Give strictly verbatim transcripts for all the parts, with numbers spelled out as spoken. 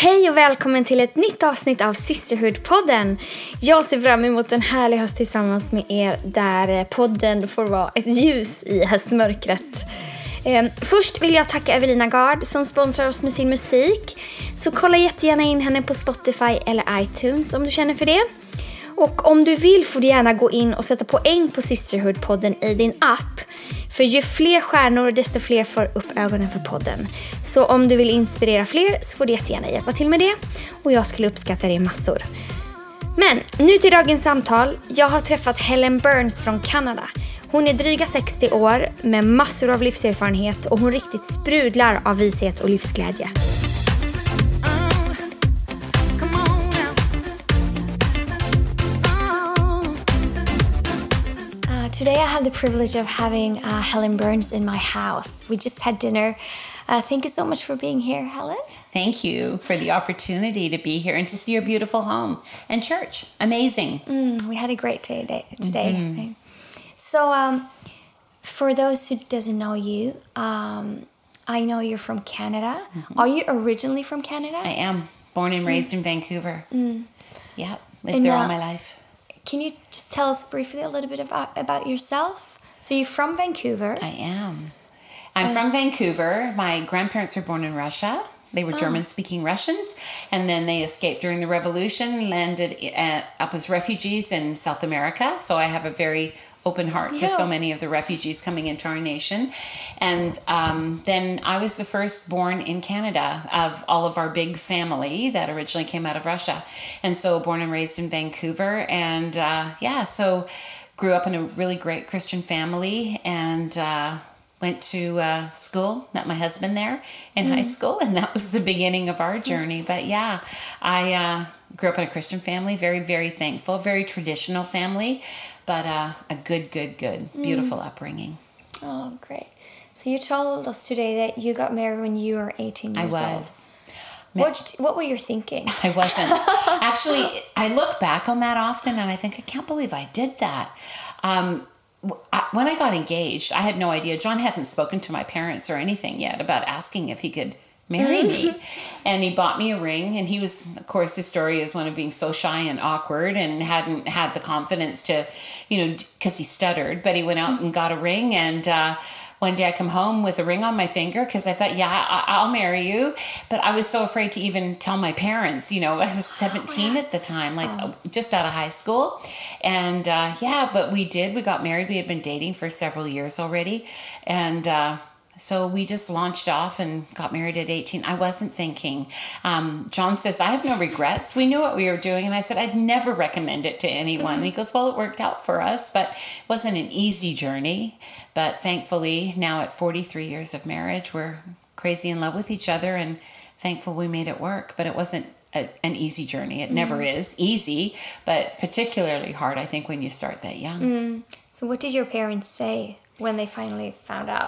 Hej och välkommen till ett nytt avsnitt av Sisterhood-podden. Jag ser fram emot en härlig höst tillsammans med er där podden får vara ett ljus i höstmörkret. Eh, först vill jag tacka Evelina Gard som sponsrar oss med sin musik. Så kolla jättegärna in henne på Spotify eller iTunes om du känner för det. Och om du vill får du gärna gå in och sätta poäng på Sisterhood-podden i din app. För ju fler stjärnor desto fler får upp ögonen för podden. Så om du vill inspirera fler så får du jättegärna hjälpa till med det. Och jag skulle uppskatta det massor. Men nu till dagens samtal. Jag har träffat Helen Burns från Kanada. Hon är dryga sextio år med massor av livserfarenhet och hon riktigt sprudlar av vishet och livsglädje. Today I have the privilege of having uh, Helen Burns in my house. We just had dinner. Uh, thank you so much for being here, Helen. Thank you for the opportunity to be here and to see your beautiful home and church. Amazing. Mm, we had a great day today. Mm-hmm. Right? So um, for those who doesn't know you, um, I know you're from Canada. Mm-hmm. Are you originally from Canada? I am. Born and raised mm. in Vancouver. Mm. Yeah, lived and, there all uh, my life. Can you just tell us briefly a little bit about, about yourself? So you're from Vancouver. I am. I'm um, from Vancouver. My grandparents were born in Russia. They were oh. German-speaking Russians. And then they escaped during the revolution, landed at, up as refugees in South America. So I have a very open heart yeah. to so many of the refugees coming into our nation. And um, then I was the first born in Canada of all of our big family that originally came out of Russia. And so born and raised in Vancouver. And uh, yeah, so grew up in a really great Christian family and uh, went to uh, school, met my husband there in mm. high school. And that was the beginning of our journey. But yeah, I uh, grew up in a Christian family, very, very thankful, very traditional family. But uh, a good, good, good, beautiful mm. upbringing. Oh, great. So you told us today that you got married when you were eighteen years old. I was. Old. What, what were you thinking? I wasn't. Actually, I look back on that often and I think, I can't believe I did that. Um, I, when I got engaged, I had no idea. John hadn't spoken to my parents or anything yet about asking if he could marry me. And he bought me a ring, and he was, of course, his story is one of being so shy and awkward and hadn't had the confidence to, you know, because he stuttered, but he went out and got a ring. And uh, one day I come home with a ring on my finger because I thought, yeah, I- I'll marry you. But I was so afraid to even tell my parents, you know, I was seventeen at the time, like oh. just out of high school. And uh, yeah, but we did, we got married. We had been dating for several years already. And, uh, So we just launched off and got married at eighteen. I wasn't thinking. Um, John says, I have no regrets. We knew what we were doing. And I said, I'd never recommend it to anyone. Mm-hmm. And he goes, well, it worked out for us, but it wasn't an easy journey. But thankfully, now at forty-three years of marriage, we're crazy in love with each other and thankful we made it work. But it wasn't a, an easy journey. It mm-hmm. never is easy, but it's particularly hard, I think, when you start that young. Mm. So what did your parents say when they finally found out?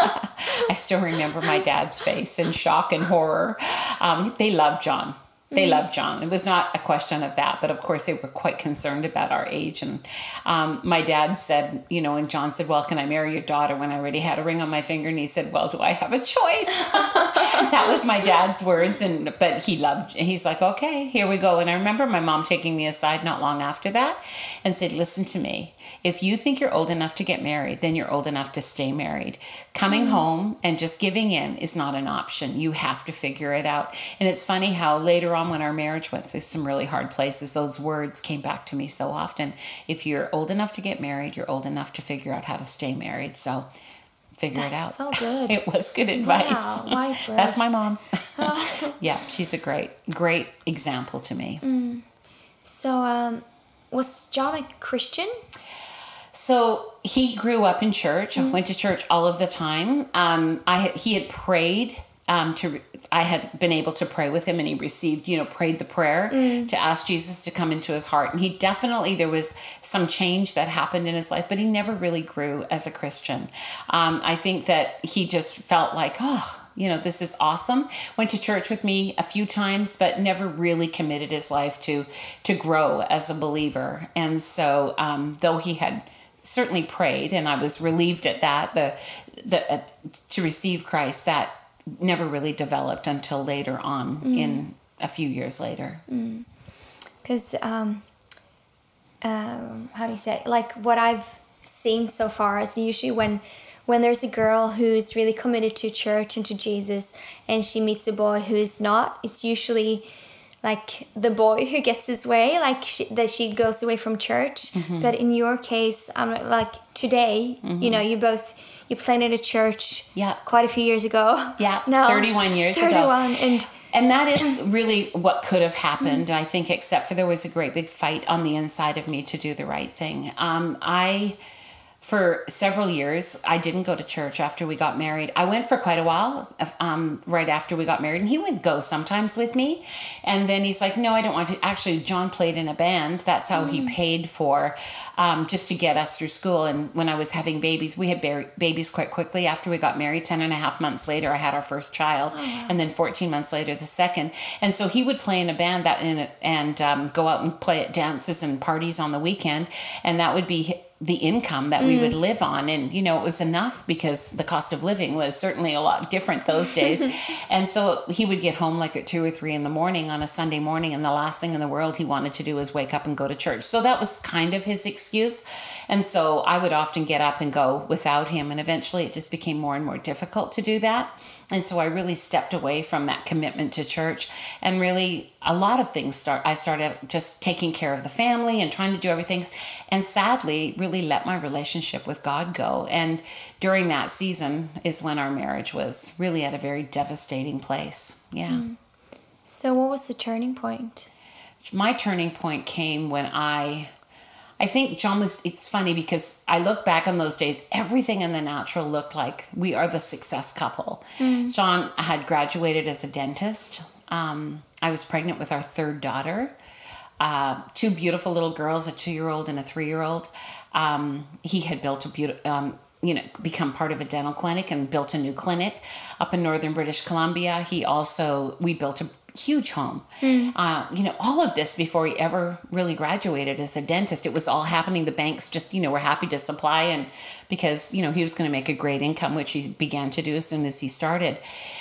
I still remember my dad's face in shock and horror. Um, they loved John. They mm-hmm. loved John. It was not a question of that, but of course they were quite concerned about our age. And um, my dad said, you know, and John said, well, can I marry your daughter, when I already had a ring on my finger? And he said, well, do I have a choice? That was my dad's words. And but he loved, he's like, okay, here we go. And I remember my mom taking me aside not long after that and said, listen to me. If you think you're old enough to get married, then you're old enough to stay married. Coming mm-hmm. home and just giving in is not an option. You have to figure it out. And it's funny how later on when our marriage went through some really hard places, those words came back to me so often. If you're old enough to get married, you're old enough to figure out how to stay married. So figure That's it out. So good. It was good advice. Wow, wise words. That's my mom. Yeah, she's a great, great example to me. Mm. So um, was John a Christian? So he grew up in church, mm-hmm. went to church all of the time. Um, I had, he had prayed um, to, I had been able to pray with him, and he received, you know, prayed the prayer mm. to ask Jesus to come into his heart. And he definitely, there was some change that happened in his life, but he never really grew as a Christian. Um, I think that he just felt like, oh, you know, this is awesome. Went to church with me a few times, but never really committed his life to, to grow as a believer. And so, um, though he had certainly prayed, and I was relieved at that, the, the, uh, to receive Christ, that never really developed until later on mm. in a few years later. Because, mm. um, um, how do you say, like what I've seen so far is usually when when there's a girl who's really committed to church and to Jesus and she meets a boy who is not, it's usually like the boy who gets his way, like she, that she goes away from church. Mm-hmm. But in your case, um, like today, mm-hmm. you know, you both, you planted a church yeah. quite a few years ago. Yeah, no, thirty-one years thirty-one, ago. And And that is really what could have happened, mm-hmm. I think, except for there was a great big fight on the inside of me to do the right thing. Um, I... For several years, I didn't go to church after we got married. I went for quite a while um, right after we got married, and he would go sometimes with me. And then he's like, no, I don't want to. Actually, John played in a band. That's how mm. he paid for um, just to get us through school. And when I was having babies, we had ba- babies quite quickly after we got married. Ten and a half months later, I had our first child. Oh, wow. And then fourteen months later, the second. And so he would play in a band that in a, and um, go out and play at dances and parties on the weekend. And that would be the income that we mm. would live on. And, you know, it was enough because the cost of living was certainly a lot different those days. And so he would get home like at two or three in the morning on a Sunday morning. And the last thing in the world he wanted to do was wake up and go to church. So that was kind of his excuse. And so I would often get up and go without him. And eventually it just became more and more difficult to do that. And so I really stepped away from that commitment to church, and really a lot of things start. I started just taking care of the family and trying to do everything, and sadly really let my relationship with God go. And during that season is when our marriage was really at a very devastating place. Yeah. Mm. So what was the turning point? My turning point came when I... I think John was, it's funny because I look back on those days, everything in the natural looked like we are the success couple. Mm. John had graduated as a dentist. Um, I was pregnant with our third daughter, uh, two beautiful little girls, a two-year-old and a three-year-old. Um, he had built a beautiful, um, you know, become part of a dental clinic and built a new clinic up in northern British Columbia. He also, we built a huge home. Mm. Uh, you know, all of this before he ever really graduated as a dentist. It was all happening. The banks just, you know, were happy to supply, and because, you know, he was going to make a great income, which he began to do as soon as he started.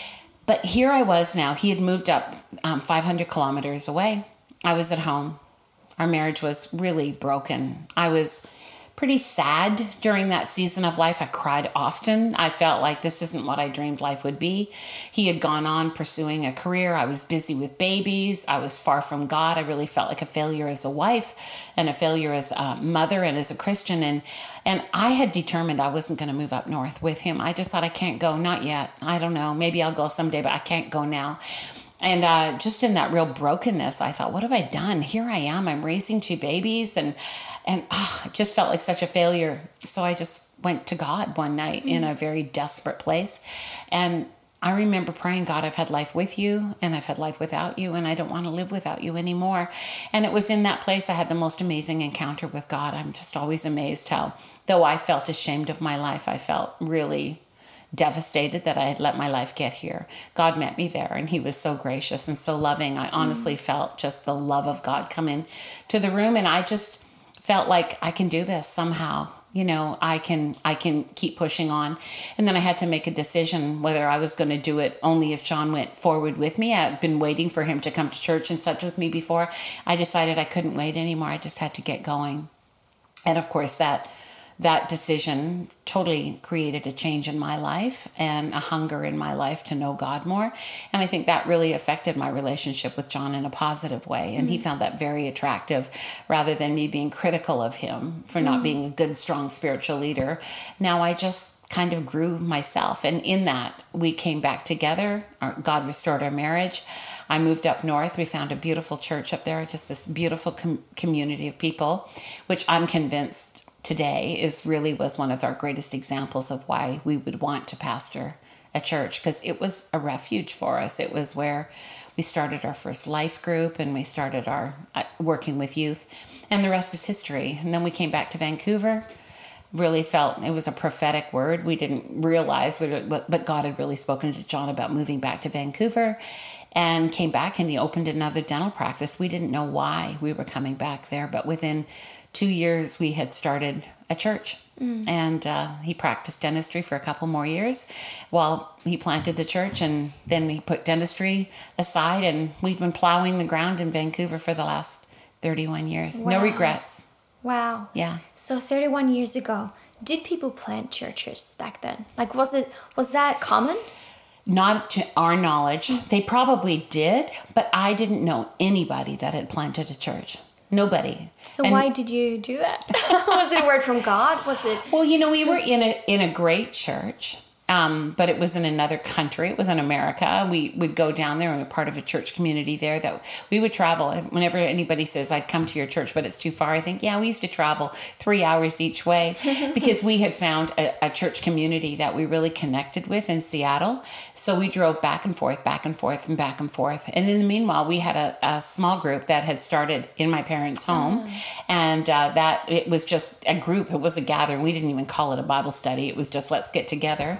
But here I was now. He had moved up um, five hundred kilometers away. I was at home. Our marriage was really broken. I was pretty sad during that season of life. I cried often. I felt like this isn't what I dreamed life would be. He had gone on pursuing a career. I was busy with babies. I was far from God. I really felt like a failure as a wife and a failure as a mother and as a Christian. And, and I had determined I wasn't going to move up north with him. I just thought, I can't go. Not yet. I don't know. Maybe I'll go someday, but I can't go now. And uh, just in that real brokenness, I thought, what have I done? Here I am. I'm raising two babies, and and oh, it just felt like such a failure. So I just went to God one night mm-hmm. in a very desperate place. And I remember praying, God, I've had life with you, and I've had life without you, and I don't want to live without you anymore. And it was in that place I had the most amazing encounter with God. I'm just always amazed how, though I felt ashamed of my life, I felt really devastated that I had let my life get here. God met me there, and he was so gracious and so loving. I honestly mm. felt just the love of God come in to the room, and I just felt like I can do this somehow. You know, I can I can keep pushing on. And then I had to make a decision whether I was going to do it only if John went forward with me. I had been waiting for him to come to church and such with me before. I decided I couldn't wait anymore. I just had to get going. And of course, that That decision totally created a change in my life and a hunger in my life to know God more. And I think that really affected my relationship with John in a positive way. And mm-hmm. he found that very attractive, rather than me being critical of him for mm-hmm. not being a good, strong spiritual leader. Now I just kind of grew myself. And in that, we came back together. Our, God restored our marriage. I moved up north. We found a beautiful church up there, just this beautiful com- community of people, which I'm convinced today is really was one of our greatest examples of why we would want to pastor a church, because it was a refuge for us. It was where we started our first life group, and we started our uh, working with youth, and the rest is history. And then we came back to Vancouver. Really felt it was a prophetic word. We didn't realize, but God had really spoken to John about moving back to Vancouver, and came back, and he opened another dental practice. We didn't know why we were coming back there, but within two years we had started a church. Mm. And uh, he practiced dentistry for a couple more years while he planted the church, and then he put dentistry aside, and we've been plowing the ground in Vancouver for the last thirty-one years. Wow. No regrets. Wow. Yeah. So thirty-one years ago, did people plant churches back then? Like, was it was that common? Not to our knowledge. They probably did, but I didn't know anybody that had planted a church. Nobody. So and, why did you do that? Was it a word from God? Was it? Well, you know, we were in a in a great church. Um, but it was in another country. It was in America. We would go down there and we were part of a church community there that we would travel. Whenever anybody says, I'd come to your church, but it's too far, I think, yeah, we used to travel three hours each way because we had found a, a church community that we really connected with in Seattle. So we drove back and forth, back and forth, and back and forth. And in the meanwhile, we had a, a small group that had started in my parents' home. Oh. And uh, that it was just a group. It was a gathering. We didn't even call it a Bible study. It was just, let's get together.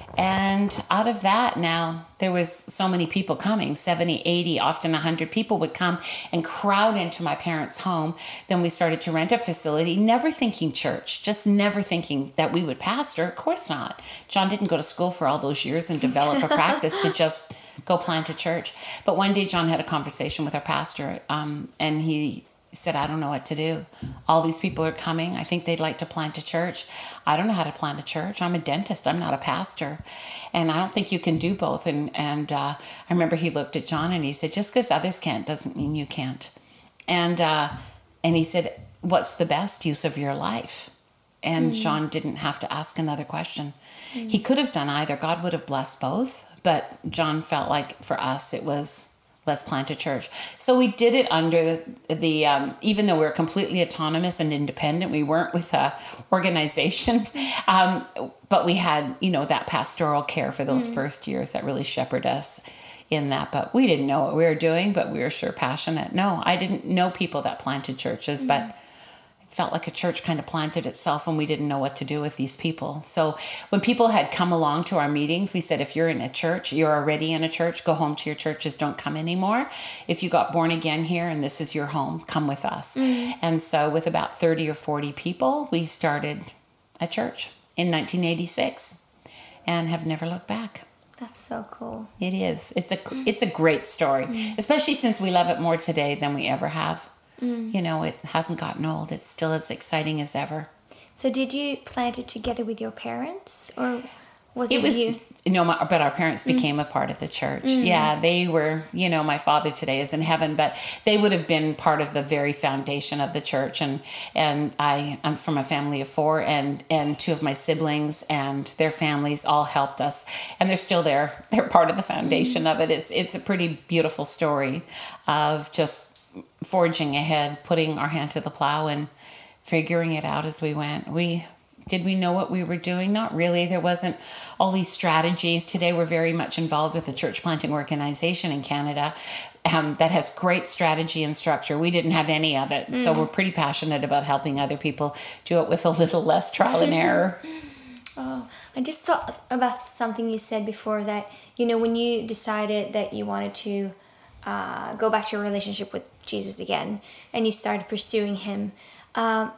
And out of that, now there was so many people coming, seventy, eighty, often one hundred people would come and crowd into my parents' home. Then we started to rent a facility, never thinking church, just never thinking that we would pastor. Of course not. John didn't go to school for all those years and develop a practice to just go plant a church. But one day John had a conversation with our pastor, um, and he said, I don't know what to do. All these people are coming. I think they'd like to plant a church. I don't know how to plant a church. I'm a dentist. I'm not a pastor. And I don't think you can do both. And and uh, I remember he looked at John and he said, just because others can't doesn't mean you can't. And uh, and he said, what's the best use of your life? And mm. John didn't have to ask another question. Mm. He could have done either. God would have blessed both. But John felt like for us it was, let's plant a church. So we did it under the, the um, even though we were completely autonomous and independent, we weren't with a organization, um, but we had, you know, that pastoral care for those mm. first years that really shepherded us in that. But we didn't know what we were doing, but we were sure passionate. No, I didn't know people that planted churches, mm. but felt like a church kind of planted itself and we didn't know what to do with these people. So when people had come along to our meetings, we said, if you're in a church, you're already in a church, go home to your churches, don't come anymore. If you got born again here and this is your home, come with us. Mm. And so with about thirty or forty people, we started a church in nineteen eighty-six and have never looked back. That's so cool. It is. It's a, it's a great story, mm. especially since we love it more today than we ever have. Mm. You know, it hasn't gotten old. It's still as exciting as ever. So did you plant it together with your parents or was it, it was, you? No, my, but our parents became mm. a part of the church. Mm. Yeah, they were, you know, my father today is in heaven, but they would have been part of the very foundation of the church. And and I, I'm from a family of four, and, and two of my siblings and their families all helped us. And they're still there. They're part of the foundation mm. of it. It's, it's a pretty beautiful story of just forging ahead, putting our hand to the plow and figuring it out as we went. We did we know what we were doing? Not really. There wasn't all these strategies. Today we're very much involved with a church planting organization in Canada um, that has great strategy and structure. We didn't have any of it. Mm. So we're pretty passionate about helping other people do it with a little less trial and error. Oh, I just thought about something you said before that, you know, when you decided that you wanted to Uh, go back to your relationship with Jesus again and you started pursuing him, um,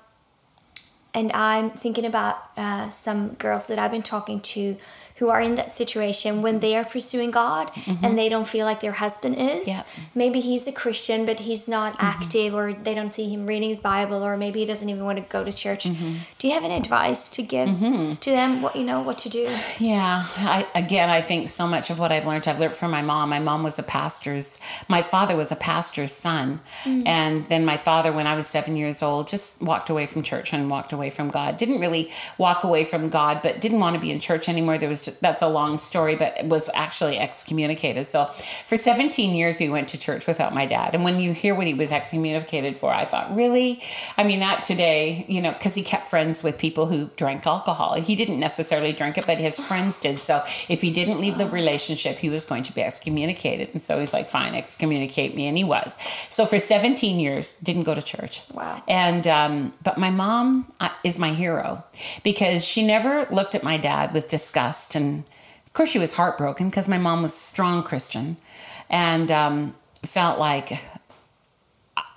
and I'm thinking about uh, some girls that I've been talking to who are in that situation when they are pursuing God mm-hmm. and they don't feel like their husband is. Yep. Maybe he's a Christian but he's not mm-hmm. active, or they don't see him reading his Bible, or maybe he doesn't even want to go to church. Mm-hmm. Do you have any advice to give mm-hmm. to them, what you know what to do? Yeah, I, again, I think so much of what I've learned, I've learned from my mom. My mom was a pastor's, my father was a pastor's son. Mm-hmm. And then my father, when I was seven years old, just walked away from church and walked away from God. Didn't really walk away from God, but didn't want to be in church anymore. There was just, that's a long story, but was actually excommunicated. So for seventeen years, we went to church without my dad. And when you hear what he was excommunicated for, I thought, really? I mean, not today, you know, because he kept friends with people who drank alcohol. He didn't necessarily drink it, but his friends did. So if he didn't leave the relationship, he was going to be excommunicated. And so he's like, fine, excommunicate me. And he was. So for seventeen years, didn't go to church. Wow. And, um, but my mom is my hero because she never looked at my dad with disgust. And of course, she was heartbroken because my mom was a strong Christian and um, felt like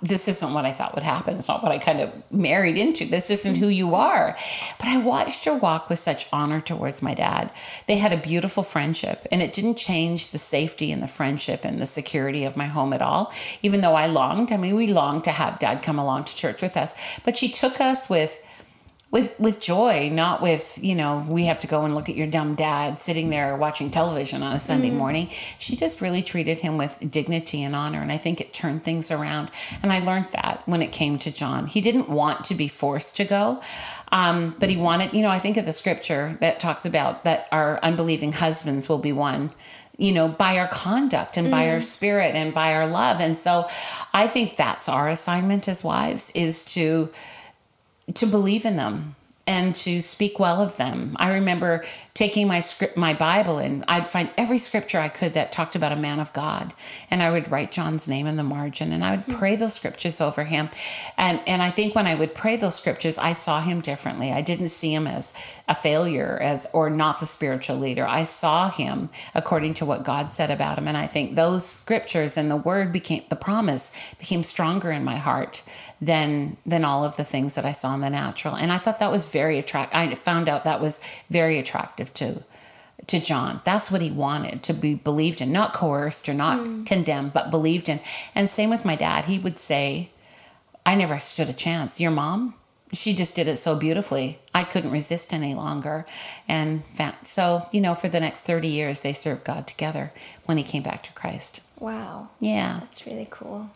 this isn't what I thought would happen. It's not what I kind of married into. This isn't who you are. But I watched her walk with such honor towards my dad. They had a beautiful friendship, and it didn't change the safety and the friendship and the security of my home at all, even though I longed. I mean, we longed to have dad come along to church with us. But she took us with With with joy, not with, you know, we have to go and look at your dumb dad sitting there watching television on a Sunday mm. morning. She just really treated him with dignity and honor. And I think it turned things around. And I learned that when it came to John. He didn't want to be forced to go, um, but he wanted, you know, I think of the scripture that talks about that our unbelieving husbands will be won, you know, by our conduct and mm. by our spirit and by our love. And so I think that's our assignment as wives, is to to believe in them and to speak well of them. I remember taking my script, my Bible, and I'd find every scripture I could that talked about a man of God, and I would write John's name in the margin, and I would mm-hmm. pray those scriptures over him. And and I think when I would pray those scriptures, I saw him differently. I didn't see him as a failure, as or not the spiritual leader. I saw him according to what God said about him, and I think those scriptures and the word became the promise became stronger in my heart than than all of the things that I saw in the natural. And I thought that was very attractive. I found out that was very attractive to to John. That's what he wanted, to be believed in, not coerced or not mm. condemned, but believed in. And same with my dad. He would say, I never stood a chance. Your mom, she just did it so beautifully. I couldn't resist any longer. And so, you know, for the next thirty years, they served God together when he came back to Christ. Wow. Yeah. That's really cool.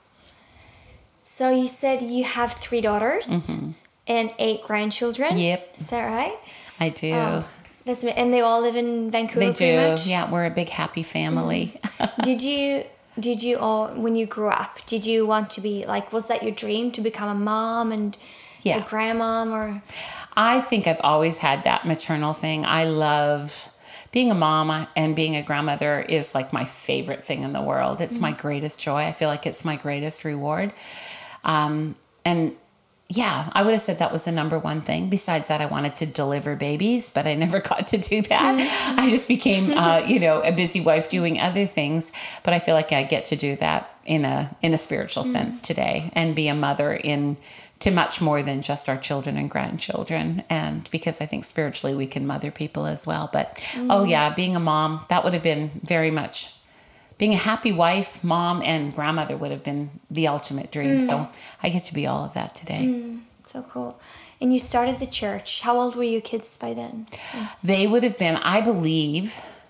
So you said you have three daughters mm-hmm. and eight grandchildren. Yep. Is that right? I do. Oh, that's and they all live in Vancouver. They pretty do. Much? Yeah, we're a big happy family. Mm-hmm. did you did you all when you grew up? Did you want to be like? Was that your dream to become a mom and yeah. a grandmom? Or I think I've always had that maternal thing. I love being a mom and being a grandmother is like my favorite thing in the world. It's mm-hmm. my greatest joy. I feel like it's my greatest reward. Um, and yeah, I would have said that was the number one thing. Besides that, I wanted to deliver babies, but I never got to do that. Mm-hmm. I just became, uh, you know, a busy wife doing other things. But I feel like I get to do that in a in a spiritual mm-hmm. sense today, and be a mother in to much more than just our children and grandchildren. And because I think spiritually we can mother people as well. But mm-hmm. oh yeah, being a mom, that would have been very much. Being a happy wife, mom, and grandmother would have been the ultimate dream. Mm. So I get to be all of that today. Mm, so cool. And you started the church. How old were your kids by then? Mm. They would have been, I believe,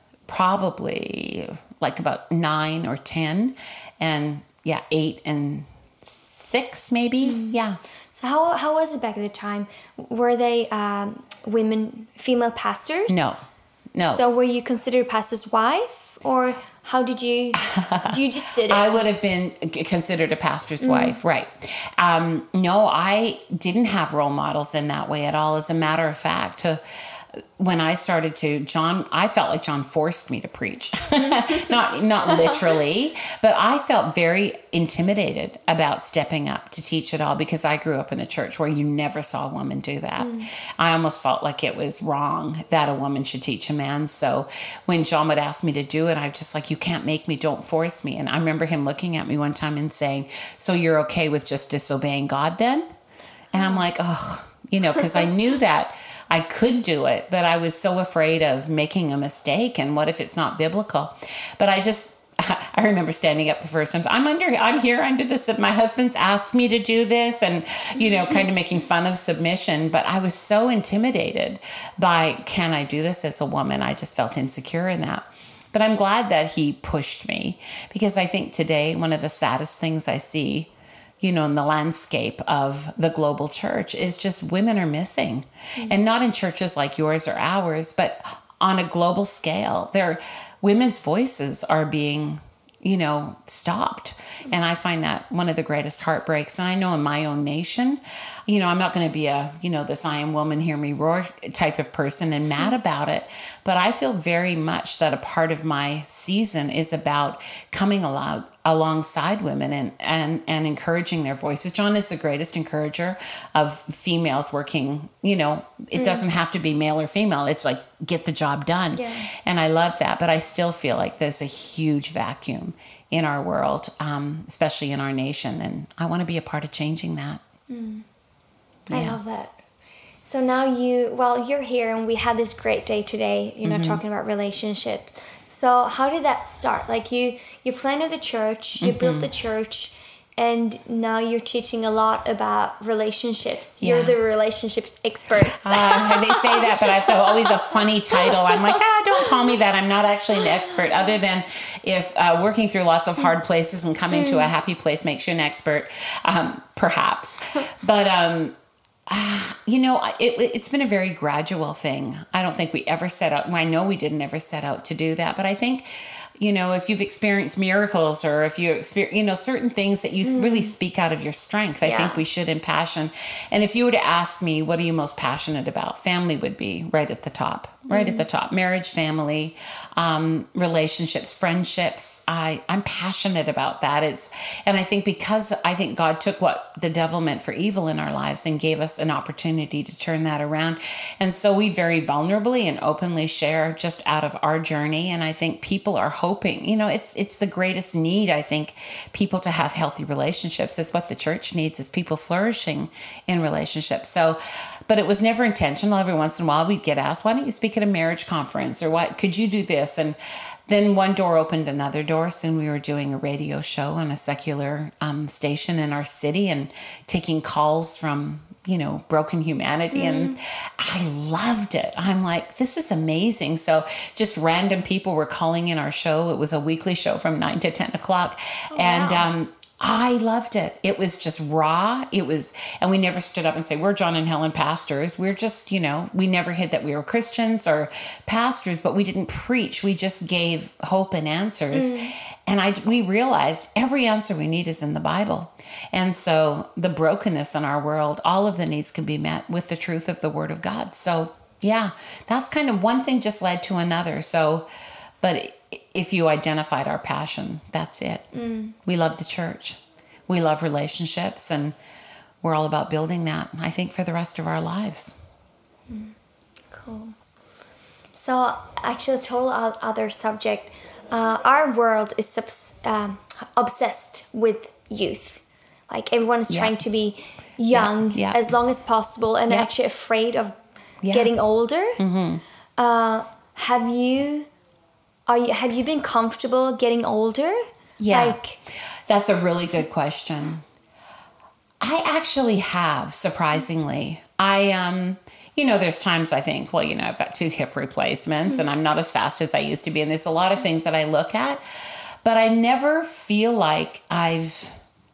probably like about nine or ten. And yeah, eight and six maybe. Mm. Yeah. So how how was it back at the time? Were they um, women, female pastors? No. No. So were you considered pastor's wife, or... How did you, you just did it? I would have been considered a pastor's mm. wife, right. Um, no, I didn't have role models in that way at all. As a matter of fact, to, when I started to, John, I felt like John forced me to preach. not not literally, but I felt very intimidated about stepping up to teach at all, because I grew up in a church where you never saw a woman do that. Mm. I almost felt like it was wrong that a woman should teach a man. So when John would ask me to do it, I was just like, you can't make me, don't force me. And I remember him looking at me one time and saying, so you're okay with just disobeying God then? And I'm like, oh, you know, because I knew that I could do it, but I was so afraid of making a mistake. And what if it's not biblical? But I just, I remember standing up the first time. I'm under, I'm here under this. My husband's asked me to do this, and, you know, kind of making fun of submission. But I was so intimidated by, can I do this as a woman? I just felt insecure in that. But I'm glad that he pushed me, because I think today, one of the saddest things I see, you know, in the landscape of the global church is just women are missing. Mm-hmm. And not in churches like yours or ours, but on a global scale. Their women's voices are being, you know, stopped. And I find that one of the greatest heartbreaks. And I know in my own nation, you know, I'm not going to be a, you know, this I am woman, hear me roar type of person and mad about it. But I feel very much that a part of my season is about coming aloud, alongside women and, and, and encouraging their voices. John is the greatest encourager of females working, you know, it mm. doesn't have to be male or female. It's like, get the job done. Yeah. And I love that. But I still feel like there's a huge vacuum in our world, um, especially in our nation. And I want to be a part of changing that. Mm. I Yeah. love that. So now you, well, you're here and we had this great day today, you know, Mm-hmm. talking about relationships. So how did that start? Like you, you planted the church, you Mm-hmm. built the church, and now you're teaching a lot about relationships. You're Yeah. the relationships expert. Uh, they say that, but it's always a funny title. I'm like, ah, don't call me that. I'm not actually an expert, other than if uh, working through lots of hard places and coming to a happy place makes you an expert, um, perhaps. But, um, uh, you know, it, it's been a very gradual thing. I don't think we ever set out, well, I know we didn't ever set out to do that, but I think, you know, if you've experienced miracles or if you experience, you know, certain things that you mm. really speak out of your strength, I yeah. think we should impassion. And if you were to ask me, what are you most passionate about? Family would be right at the top, right mm. at the top. Marriage, family, um, relationships, friendships. I, I'm passionate about that. It's, and I think because I think God took what the devil meant for evil in our lives and gave us an opportunity to turn that around. And so we very vulnerably and openly share just out of our journey. And I think people are hoping, you know, it's it's the greatest need, I think, people to have healthy relationships. That's what the church needs, is people flourishing in relationships. So, but it was never intentional. Every once in a while we'd get asked, why don't you speak at a marriage conference? Or what, could you do this? And then one door opened another door. Soon we were doing a radio show on a secular um, station in our city and taking calls from, you know, broken humanity. Mm. And I loved it. I'm like, this is amazing. So just random people were calling in our show. It was a weekly show from nine to ten o'clock. Oh, and, wow. um, I loved it. It was just raw. It was, and we never stood up and say, we're John and Helen pastors. We're just, you know, we never hid that we were Christians or pastors, but we didn't preach. We just gave hope and answers. Mm. And I, we realized every answer we need is in the Bible. And so the brokenness in our world, all of the needs can be met with the truth of the Word of God. So yeah, that's kind of one thing just led to another. So, but if you identified our passion, that's it. Mm. We love the church. We love relationships, and we're all about building that, I think, for the rest of our lives. Mm. Cool. So actually, total other subject. Uh, our world is subs- um, obsessed with youth. Like everyone is yeah. trying to be young yeah. Yeah. as long as possible, and yeah. actually afraid of yeah. getting older. Mm-hmm. Uh, have you... Are you, have you been comfortable getting older? Yeah, like, that's a really good question. I actually have, surprisingly. I, um, you know, there's times I think, well, you know, I've got two hip replacements mm-hmm. and I'm not as fast as I used to be. And there's a lot of things that I look at, but I never feel like I've,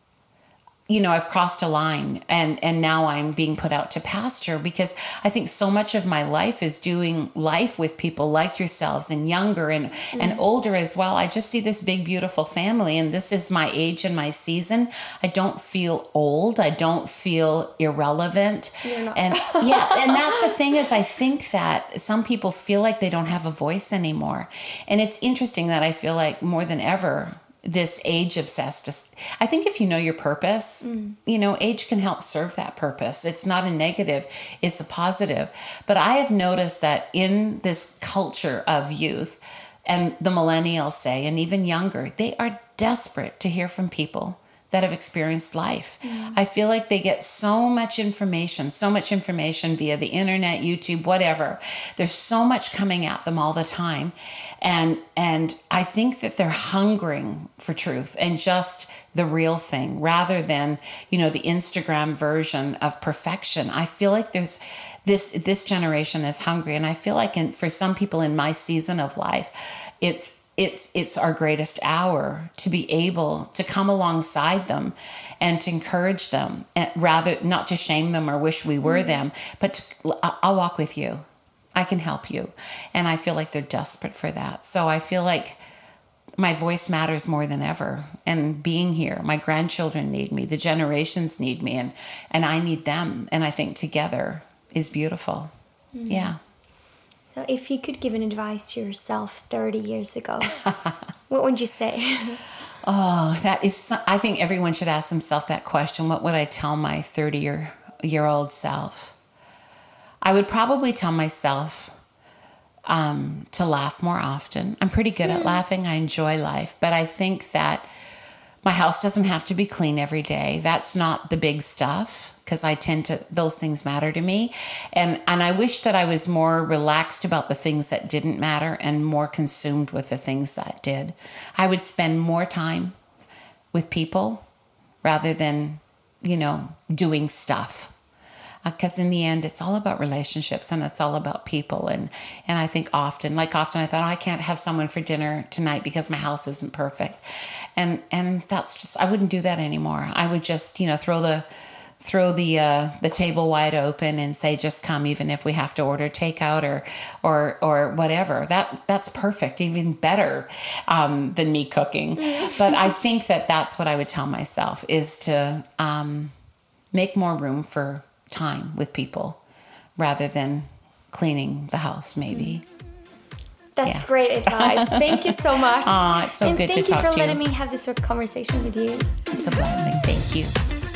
you know, I've crossed a line and, and now I'm being put out to pasture, because I think so much of my life is doing life with people like yourselves, and younger and, mm-hmm. and older as well. I just see this big, beautiful family, and this is my age and my season. I don't feel old. I don't feel irrelevant. You're not. And yeah, and that's the thing, is I think that some people feel like they don't have a voice anymore. And it's interesting that I feel like more than ever, this age obsessed, just, I think if you know your purpose, mm. you know, age can help serve that purpose. It's not a negative, it's a positive. But I have noticed that in this culture of youth, and the millennials say, and even younger, they are desperate to hear from people that have experienced life. Mm. I feel like they get so much information, so much information via the internet, YouTube, whatever. There's so much coming at them all the time. And and I think that they're hungering for truth and just the real thing, rather than, you know, the Instagram version of perfection. I feel like there's this this generation is hungry. And I feel like in, for some people in my season of life, it's It's it's our greatest hour to be able to come alongside them and to encourage them, and rather not to shame them or wish we were mm-hmm. them, but to, I'll walk with you. I can help you. And I feel like they're desperate for that. So I feel like my voice matters more than ever. And being here, my grandchildren need me, the generations need me, and, and I need them. And I think together is beautiful. Mm-hmm. Yeah. So if you could give an advice to yourself thirty years ago, what would you say? Oh, that is, I think everyone should ask themselves that question. What would I tell my thirty-year-old self? I would probably tell myself, um, to laugh more often. I'm pretty good mm. at laughing. I enjoy life. But I think that my house doesn't have to be clean every day. That's not the big stuff, because I tend to, those things matter to me. And and I wish that I was more relaxed about the things that didn't matter and more consumed with the things that did. I would spend more time with people rather than, you know, doing stuff. Because uh, in the end, it's all about relationships and it's all about people. And, and I think often, like often I thought, oh, I can't have someone for dinner tonight because my house isn't perfect. And and that's just, I wouldn't do that anymore. I would just, you know, throw the throw the uh, the table wide open and say, just come, even if we have to order takeout or or or whatever. That that's perfect, even better um, than me cooking. But I think that that's what I would tell myself, is to um, make more room for time with people rather than cleaning the house, maybe. That's yeah. great advice. Thank you so much. Aw, it's so and good to thank talk you for to you. letting me have this sort of conversation with you. It's a blessing. Thank you.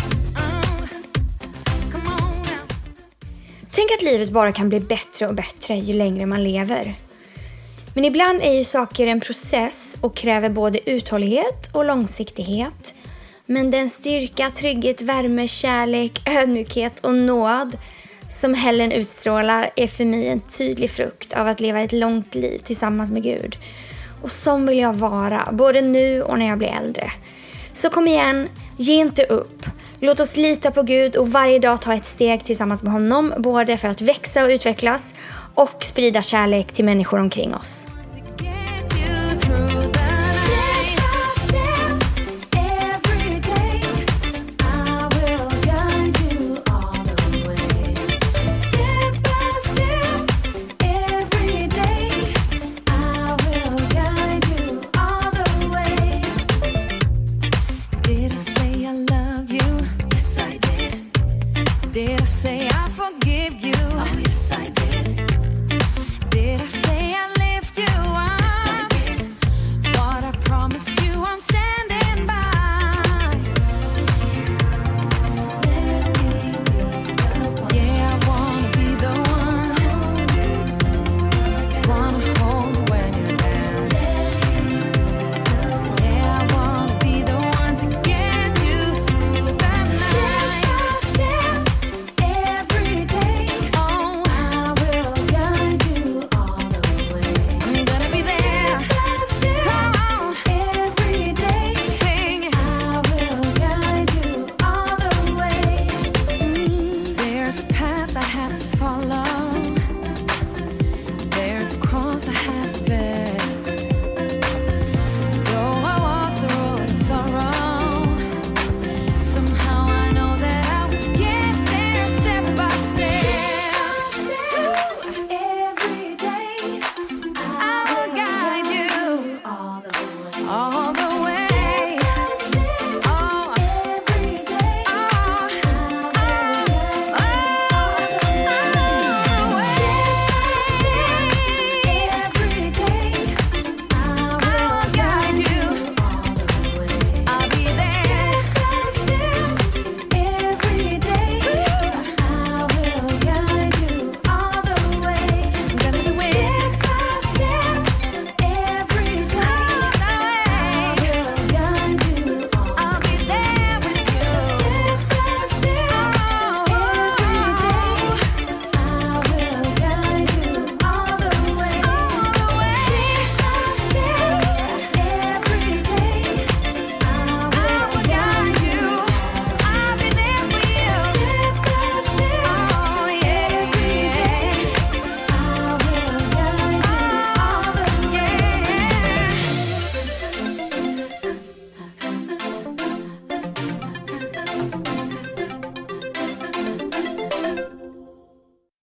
Tänk att livet bara kan bli bättre och bättre ju längre man lever. Men ibland är ju saker en process och kräver både uthållighet och långsiktighet. Men den styrka, trygghet, värme, kärlek, ödmjukhet och nåd som Helen utstrålar är för mig en tydlig frukt av att leva ett långt liv tillsammans med Gud. Och som vill jag vara, både nu och när jag blir äldre. Så kom igen, ge inte upp. Låt oss lita på Gud och varje dag ta ett steg tillsammans med honom, både för att växa och utvecklas och sprida kärlek till människor omkring oss. Did I say I forgive you?